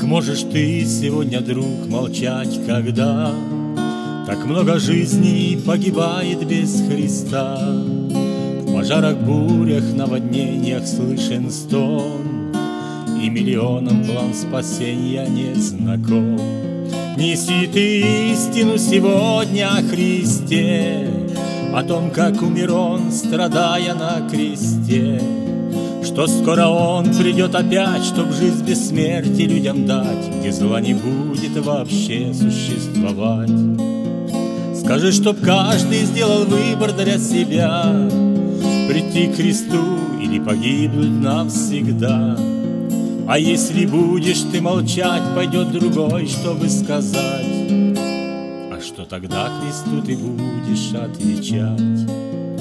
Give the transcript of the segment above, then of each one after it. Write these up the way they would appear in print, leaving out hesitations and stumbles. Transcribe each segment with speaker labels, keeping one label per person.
Speaker 1: можешь ты сегодня, друг, молчать, когда так много жизней погибает без Христа? В пожарах, бурях, наводнениях слышен стон, и миллионам план спасения не знаком. Неси ты истину сегодня о Христе, о том, как умер Он, страдая на кресте, что скоро Он придет опять, чтоб жизнь без смерти людям дать, где зла не будет вообще существовать. Скажи, чтоб каждый сделал выбор для себя, прийти к Христу или погибнуть навсегда. А если будешь ты молчать, пойдет другой, чтобы сказать. А что тогда Христу ты будешь отвечать?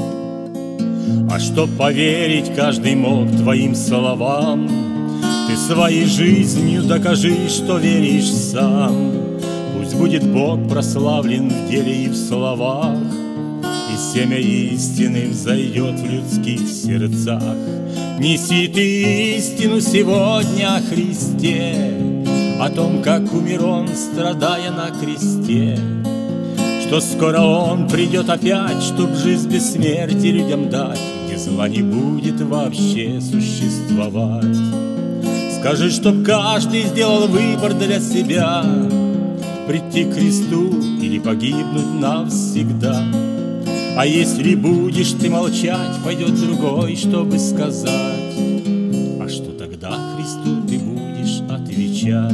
Speaker 1: А чтоб поверить каждый мог твоим словам, ты своей жизнью докажи, что веришь сам. Пусть будет Бог прославлен в деле и в словах, и семя истины взойдет в людских сердцах. Неси ты истину сегодня о Христе, о том, как умер Он, страдая на кресте, что скоро Он придет опять, чтоб жизнь без смерти людям дать, где зла не будет вообще существовать. Скажи, чтоб каждый сделал выбор для себя, прийти к Христу или погибнуть навсегда. А если будешь ты молчать, пойдет другой, чтобы сказать. А что тогда Христу ты будешь отвечать?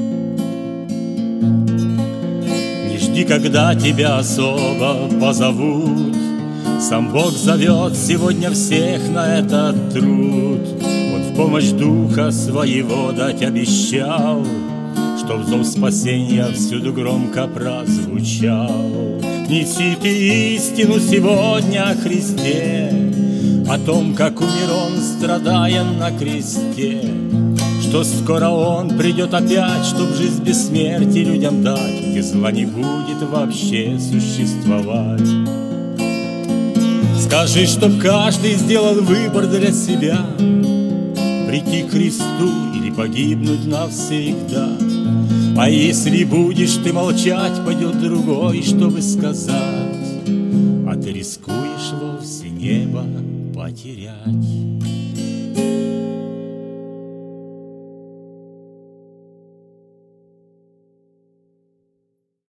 Speaker 1: Не жди, когда тебя особо позовут, сам Бог зовет сегодня всех на этот труд. Он в помощь Духа Своего дать обещал, чтоб зов спасения всюду громко прозвучал. Неси ты истину сегодня о Христе, о том, как умер Он, страдая на кресте, что скоро Он придет опять, чтоб жизнь без смерти людям дать, где зла не будет вообще существовать. Скажи, чтоб каждый сделал выбор для себя, прийти к Христу или погибнуть навсегда. А если будешь ты молчать, пойдет другой, чтобы сказать. А ты рискуешь вовсе небо потерять.